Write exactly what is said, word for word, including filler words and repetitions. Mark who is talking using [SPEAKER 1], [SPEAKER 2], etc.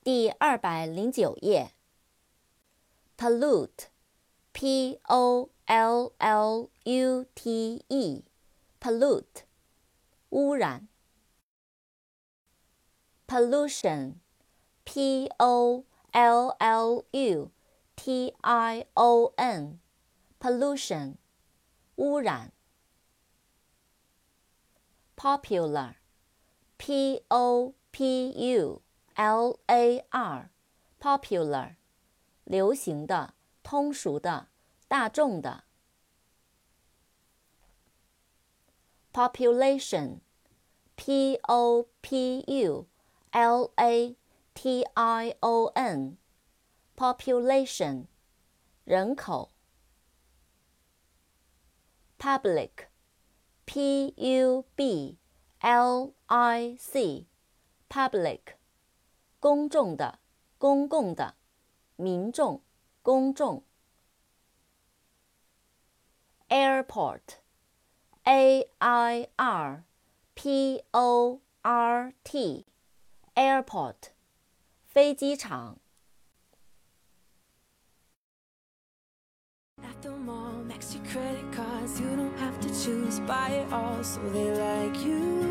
[SPEAKER 1] 第二百零九页。pollute, p o l l u t e, pollute, 污染。pollution, p o l l u t i o n, pollution, 污染。popular, p o p u l a r, popular, 流行的、通俗的、大众的。population, p o p u l a t i o n, population, 人口。public, p u b l i c, public, 公众的、公共的、民众、公众。airport, a i r p o r t, airport, 飞机场。
[SPEAKER 2] At the mall, max your credit cards, you don't have to choose, buy it all so they like you.